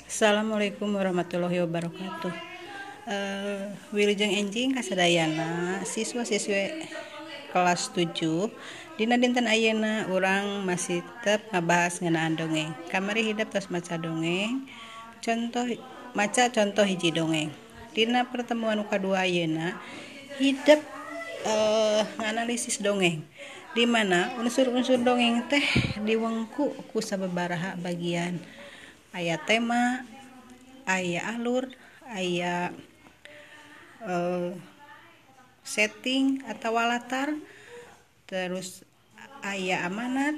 Assalamualaikum warahmatullahi wabarakatuh. Wilujeng enjing kasadayana siswa-siswi kelas 7 dina dinten ayeuna urang masih tetep ngabahas ngeunaan dongeng. Kamari hidup tos maca dongeng. Contoh hiji dongeng. Dina pertemuan kadua ayeuna hidup nganalisis dongeng, di mana unsur-unsur dongeng teh diwengku ku sababaraha bagian. Aya tema, aya alur, aya setting atau latar, terus aya amanat,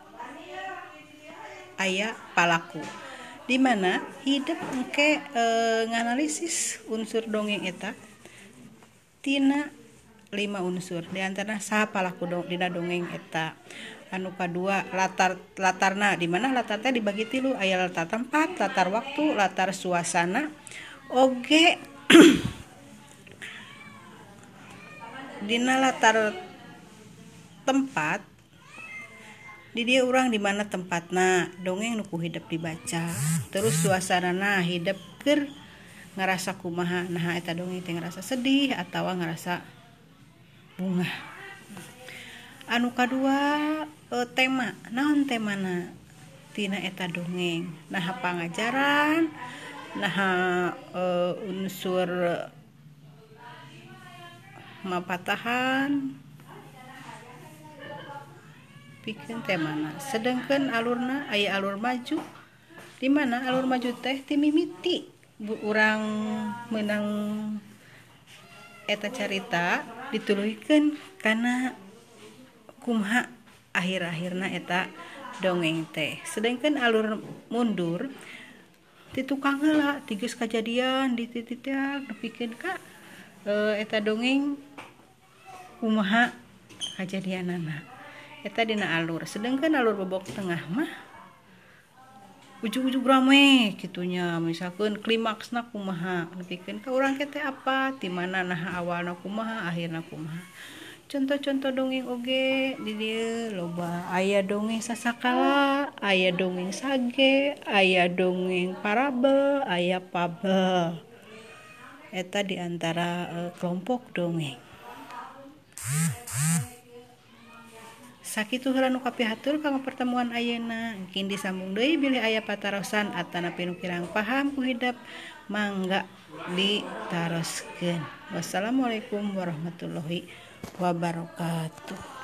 aya palaku. Di mana hidup engke nganalisis unsur dongeng eta tina 5 unsur, di antara saha palaku dina dongeng eta. Anu kadua latarna, di mana latar teh dibagi 3, aya latar tempat, latar waktu, latar suasana. Oge dina latar tempat di dia urang di mana tempatna dongeng nu ku hidup dibaca. Terus suasanana hidup keur ngarasa kumaha, nah eta dongeng teh ngarasa sedih atawa ngarasa bungah. Anu kadua tema, naon temana tina eta dongeng. Nah pangajaran, nah unsur mapatahan, pikeun temana. Sedengkeun alurna aya alur maju, di mana alur maju teh ti mimiti urang meunang eta carita dituluikeun kana kumaha akhir-akhirna eta dongeng teh. Sedangkan alur mundur ti tukang heula ti geus kajadian di titik nepikeun ka eta dongeng kumaha kajadianana. Eta dina alur. Sedangkan alur babok tengah mah ujug-ujug rame kitunya, misalkan klimaksna kumaha nepikeun ka urang teh apa, ti mana nah awalna kumaha akhirna kumaha. Contoh-contoh dongeng oge di dieu loba. Aya dongeng sasakala, aya dongeng sage, aya dongeng parabel, aya fabel. Eta di antara kelompok dongeng. Sakitu heula nu kapihatur kanggo pertemuan ayeuna. Engkin disambung deui bilih aya patarosan atanapi nu kirang paham ku hidup mangga ditaroskeun. Wassalamualaikum warahmatullahi wabarakatuh.